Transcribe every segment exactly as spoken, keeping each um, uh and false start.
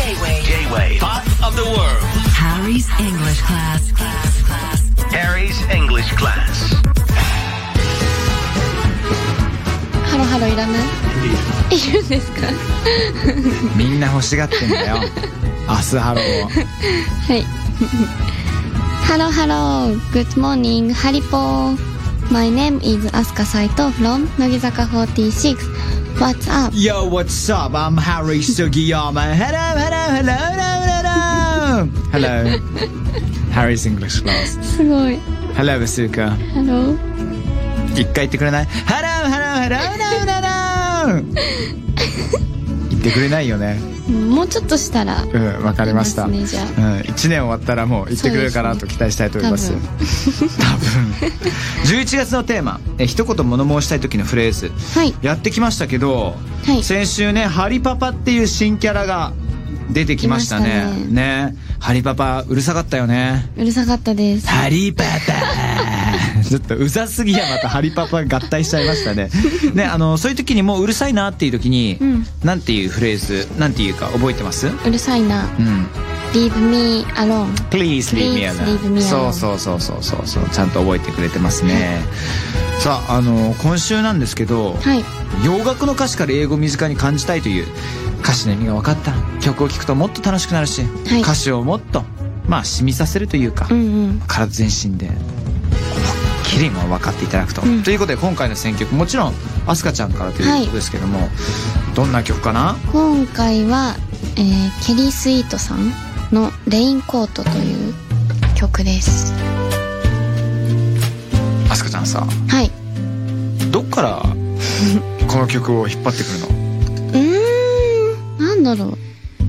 J-Wave Pop of the World. Harry's English Class. Harry's English Class. ハロハロいらない？いるんですか？ みんな欲しがってんだよ。明日ハロー。 はい。ハロハロー。Good morning, ハリポー。My name is Asuka Saito from 乃木坂 forty-six. What's up? Yo, what's up? I'm Harry Sugiyama. Hello, hello, hello, hello, hello. Hello. Harry's English Class. すごい。 Hello, Asuka. Hello. 一回言ってくれない？ Hello, hello, hello, hello, hello. 言ってくれないよね。 もうちょっとしたら。 うん、わかりました。 ね、じゃあ。 うん、いちねん終わったらもう言ってくれるかなと期待したいと思います。多分。多分じゅういちがつのテーマ、え一言物申したい時のフレーズ、はい、やってきましたけど、はい、先週ねハリパパっていう新キャラが出てきましたね。ね、ハリパパうるさかったよね。 うるさかったです。 ハリパパちょっとうざすぎやまたハリパパ合体しちゃいましたね。ね、あのそういう時にもううるさいなっていう時に、うん、なんていうフレーズなんていうか覚えてます？ うるさいな。うん。Leave me alone. Please leave me alone. そうそうそうそうそうそう、ちゃんと覚えてくれてますね。さあ、あの今週なんですけど、はい、洋楽の歌詞から英語を身近に感じたいという歌詞の意味が分かった曲を聴くともっと楽しくなるし、はい、歌詞をもっとまあ染みさせるというか、うんうん、体全身できりも分かっていただくと、うん、ということで今回の選曲もちろんアスカちゃんからということですけども、はい、どんな曲かな？ 今回は、えー、ケリー・スイートさんのレインコートという曲です。 アスカちゃんさ、はい、どっからこの曲を引っ張ってくるの？ うーん、なんだろう、う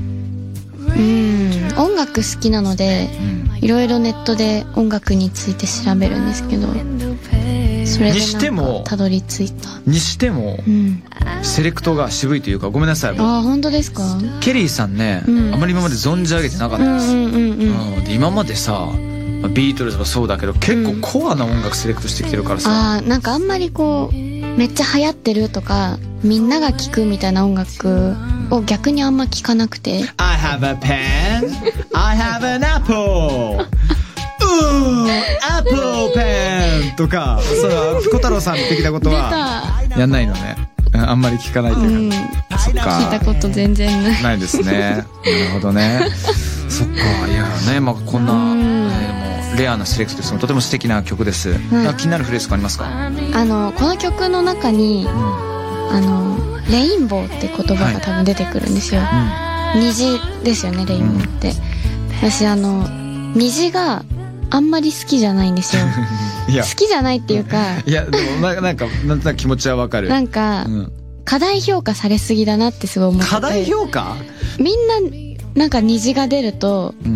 ーん、音楽好きなので、うん、いろいろネットで音楽について調べるんですけど、それでなんかたどり着いた。 にしても、うん、セレクトが渋いというか、ごめんなさい。 あ、本当ですか？ ケリーさんね、うん、あまり今まで存じ上げてなかったです。うんうんうんうん、で今までさ、ビートルズもそうだけど結構コアな音楽セレクトしてきてるからさ、うん、あ、なんかあんまりこうめっちゃ流行ってるとかみんなが聴くみたいな音楽を逆にあんま聞かなくて。 I have a pen I have an apple アップルペンとか、そのピコ太郎さん的なことはやんないのね。あんまり聞かないというか、うん、そっか、 聞いたこと全然ないないですね。なるほどね。そっか、いやね、まあこんな、うん、えー、もうレアなセレクトです。とても素敵な曲です、うん、気になるフレーズがありますか？ あのこの曲の中に、うん、あのレインボーって言葉が多分出てくるんですよ、はい、うん、虹ですよね、レインボーって、うん、私あの虹があんまり好きじゃないんですよ。いや好きじゃないっていうか、 いやでもな、なんかなんとなく気持ちはわかる。 なんか、うん、過大評価されすぎだなってすごい思ってて。 過大評価？みんななんか虹が出ると、うん、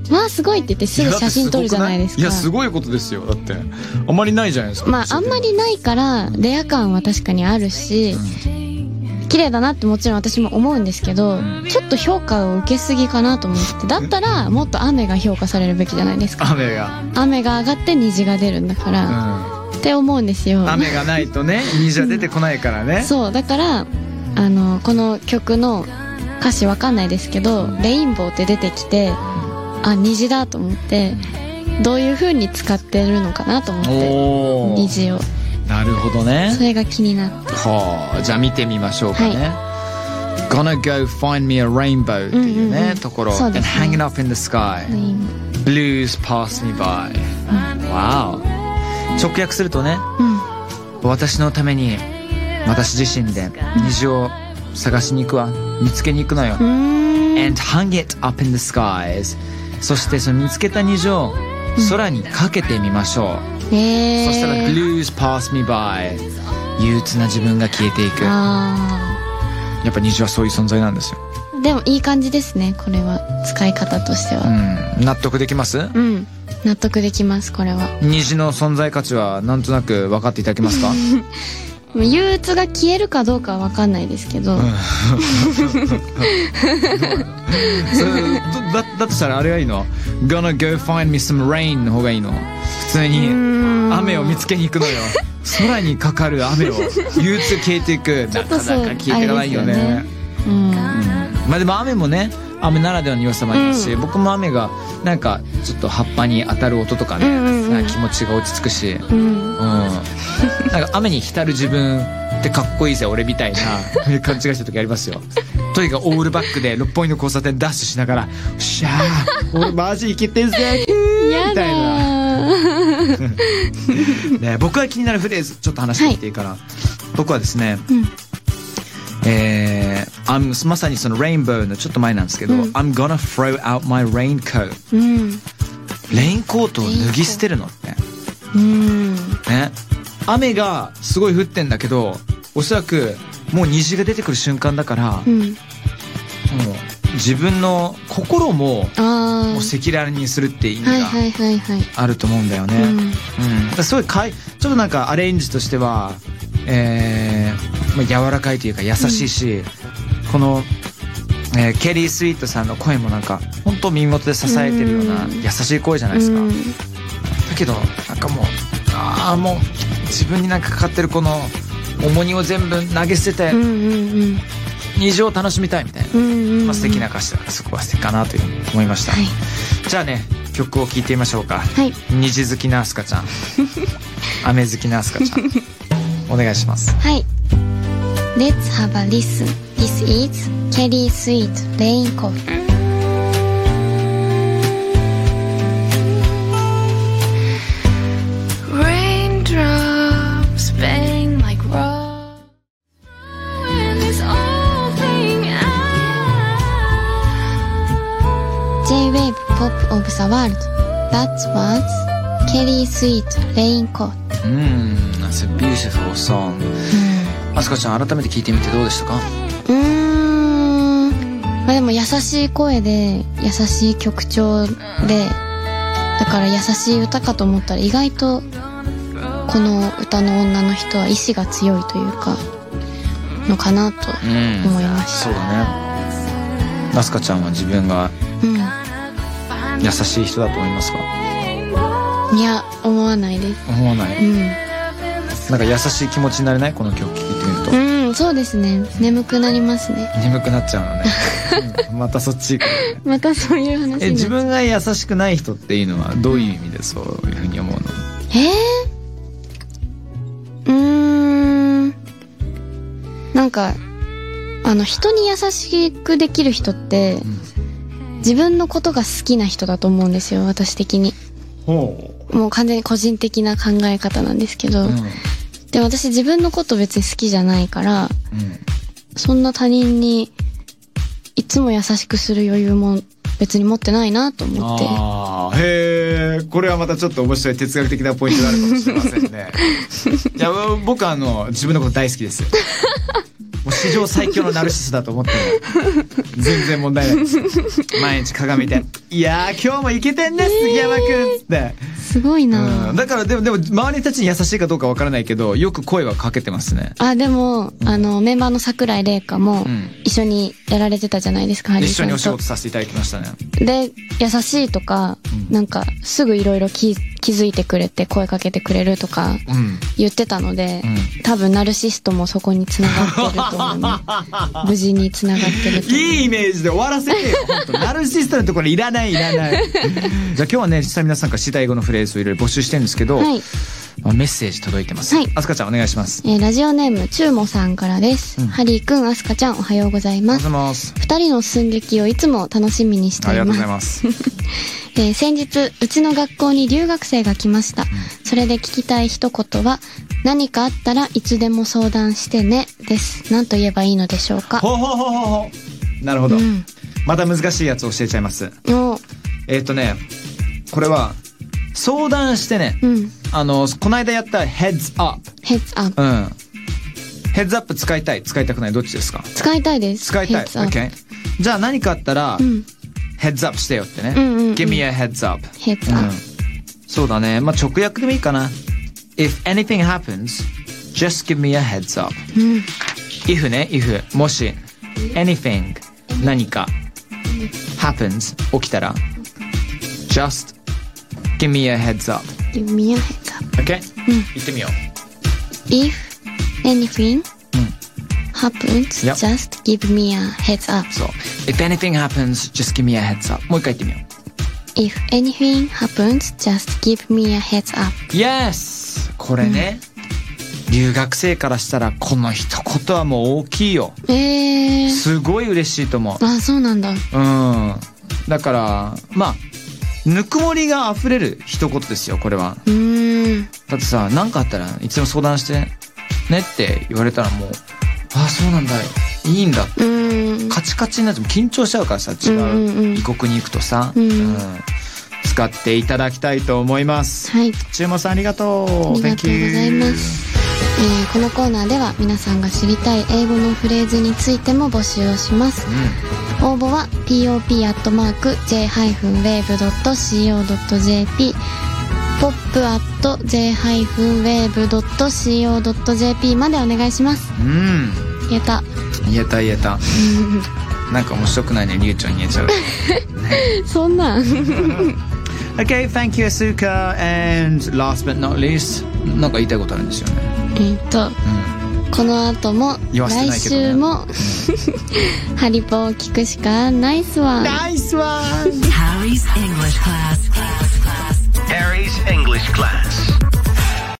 わあすごいって言ってすぐ写真撮るじゃないですか。 いやすごいことですよ。だってあんまりないじゃないですか。 まああんまりないからレア感は確かにあるし、うん、綺麗だなってもちろん私も思うんですけど、うん、ちょっと評価を受けすぎかなと思って、だったらもっと雨が評価されるべきじゃないですか。 雨が雨が上がって虹が出るんだから、うん、って思うんですよ。 雨がないとね虹は出てこないからね。 そうだからあのこの曲の歌詞わかんないですけど、レインボーって出てきて、あ、虹だと思って、どういう風に使ってるのかなと思って、虹を。 なるほどね。 それが気になって。 はあ、じゃあ見てみましょうかね。はい、Gonna go find me a rainbow っていうね、うんうんうん、ところ。そうですね。And hanging up in the sky. Blues pass me by. うん、wow。直訳するとね、うん、私のために私自身で虹を探しに行くわ、見つけに行くのよ。And hang it up in the skies. そしてその見つけた虹を空にかけてみましょう。えー、そしたら Blues pass me by. 憂鬱な自分が消えていく。あ、やっぱ虹はそういう存在なんですよ。 でもいい感じですね、これは使い方としては。 うん、納得できます？うん、 納得できます。これは虹の存在価値はなんとなく分かっていただけますか？ 憂鬱が消えるかどうかは分かんないですけど、うん、それだ, だとしたらあれがいいの？ Gonna go find me some rain の方がいいの？普通に雨を見つけに行くのよ。空にかかる雨を憂鬱消えていく。なかなか消えていかないよね。うん、うん、まあでも雨もね雨ならではの良さもありますし、うん、僕も雨がなんかちょっと葉っぱに当たる音とかね、うんうんうん、気持ちが落ち着くし、うんうん、なんか雨に浸る自分ってかっこいいぜ俺みたいな勘違いした時ありますよ。とにかくオールバックで六本木の交差点ダッシュしながらよっしゃー俺マジイケてんぜみたいなね、僕が気になるフレーズちょっと話してみていいかな、はい、僕はですね、うん、えー、まさにそのレインボーのちょっと前なんですけど、うん、I'm gonna throw out my raincoat、うん、レインコートを脱ぎ捨てるのって、うんね、雨がすごい降ってんだけどおそらくもう虹が出てくる瞬間だから、うん、もう自分の心ももう赤裸々にするって意味があると思うんだよね。すごいかいちょっとなんかアレンジとしては、えーまあ、柔らかいというか優しいし、うん、この、えー、ケリー・スイートさんの声もなんか本当耳元で支えてるような優しい声じゃないですか、うん、だけどなんかもうああもう自分になんかかかってるこの重荷を全部投げ捨てて、うんうんうん、虹を楽しみたいみたいな、うんうんうん、まあ、素敵な歌詞だからそこは素敵かなというふうに思いました、はい、じゃあね曲を聴いてみましょうか、はい、虹好きなアスカちゃん雨好きなアスカちゃんお願いします。 はい、 Let's have a listen. This is Kelly Sweet Raincoat。J-Wave Pop of the World. That was Kelly Sweet Raincoat。 うん、That's a beautiful song。あすかちゃん改めて聞いてみてどうでしたか？ うーん、まあでも優しい声で優しい曲調で、だから優しい歌かと思ったら意外とこの歌の女の人は意志が強いというかのかなと思いました。 うん、そうだね。あすかちゃんは自分が優しい人だと思いますか？ いや、思わないです。 思わない、うん、なんか優しい気持ちになれない？この曲聴いてみると。 うん、そうですね、眠くなりますね。 眠くなっちゃうのね、うん、またそっち行く、ね、またそういう話。 え、自分が優しくない人っていうのはどういう意味でそういうふうに思うの？ えー、うーん、なんかあの人に優しくできる人って、うん、自分のことが好きな人だと思うんですよ、私的に。ほう。もう完全に個人的な考え方なんですけど、うん、で私自分のこと別に好きじゃないから、うん、そんな他人にいつも優しくする余裕も別に持ってないなと思って。 あー、へー、これはまたちょっと面白い哲学的なポイントがあるかもしれませんね。いや、僕はあの自分のこと大好きですよ。もう史上最強のナルシスだと思って全然問題ないです。毎日鏡見て、いやー今日もイケてんね、杉山くんって。 すごいな、 うん、だからでもでも周りたちに優しいかどうかわからないけどよく声はかけてますね。 あ、でも、うん、あのメンバーの桜井玲香も一緒にやられてたじゃないですか、うん、 一緒にお仕事させていただきましたね。 で優しいとか、うん、なんかすぐいろいろ気づいてくれて声かけてくれるとか言ってたので、うん、多分ナルシストもそこに繋がってると思う、ね、無事に繋がってると思う。 いいイメージで終わらせてよ本当。ナルシストのところいらないいらない。じゃあ今日はね、実際皆さんから知りたい語のフレーズをいろいろ募集してるんですけど、はい、メッセージ届いてます。はい、あすかちゃんお願いします。 えー、ラジオネームちゅうもさんからです。うん、ハリーくん、あすかちゃんおはようございます。 おはようございます。 二人の寸劇をいつも楽しみにしています。ありがとうございます。えー、先日うちの学校に留学生が来ました。うん、それで聞きたい一言は、何かあったらいつでも相談してねです。何と言えばいいのでしょうか？ ほうほうほうほうほう。なるほど、うん、また難しいやつ教えちゃいます。えっとね、これは相談してね、うん、あのこの間やったヘッズアップ。 ヘッズアップ、 うん、ヘッズアップ使いたい使いたくないどっちですか？ 使いたいです。 使いたい。 OK。 じゃあ何かあったら、うん、ヘッズアップしてよってね、うんうんうん、Give me a heads up。 ヘッズアップ、うん、 そうだね、まあ直訳でもいいかな。 If anything happens just give me a heads up、うん、if ね if もし anything 何か happens 起きたら just give me a heads up。 give me a heads up。 OK、うん、言ってみよう。 If anything、うん、 happens, Yep. just give me a heads up. そう。If anything happens, just give me a heads up. もう一回言ってみよう。 If anything happens, just give me a heads up. Yes! これね、うん、留学生からしたらこの一言はもう大きいよ。 えー。 すごい嬉しいと思う。 あ、そうなんだ。 うん。だから、まあ、ぬくもりが溢れる一言ですよ、これは。 うーん。 だってさ、何かあったらいつでも相談してねって言われたらもう、ああ、そうなんだ、いいんだ。 うん。 カチカチになっても緊張しちゃうからさ、違う異国に行くとさ、 うんうんうん、使っていただきたいと思います。 はい。 注文さんありがとう。 ありがとうございます。えー、このコーナーでは皆さんが知りたい英語のフレーズについても募集をします。うん、応募は ピーオーピー アットマーク ジェイ ウェーブ ドット シーオー ドット ジェーピー ポップ アット ジェイ ウェーブ ドット シーオー ドット ジェーピー までお願いします。 うん。 言えた。 言えた言えた。なんか面白くないね、りゅうちゃん言えちゃう。 そんなん。 Okay, thank you, Asuka. And last but not least, なんか言いたいことあるんですよね。 えっと、うん、この後も、来週も、ハリポを聞くしかナイスワン。 ナイスワン Harry's English class. Harry's English class.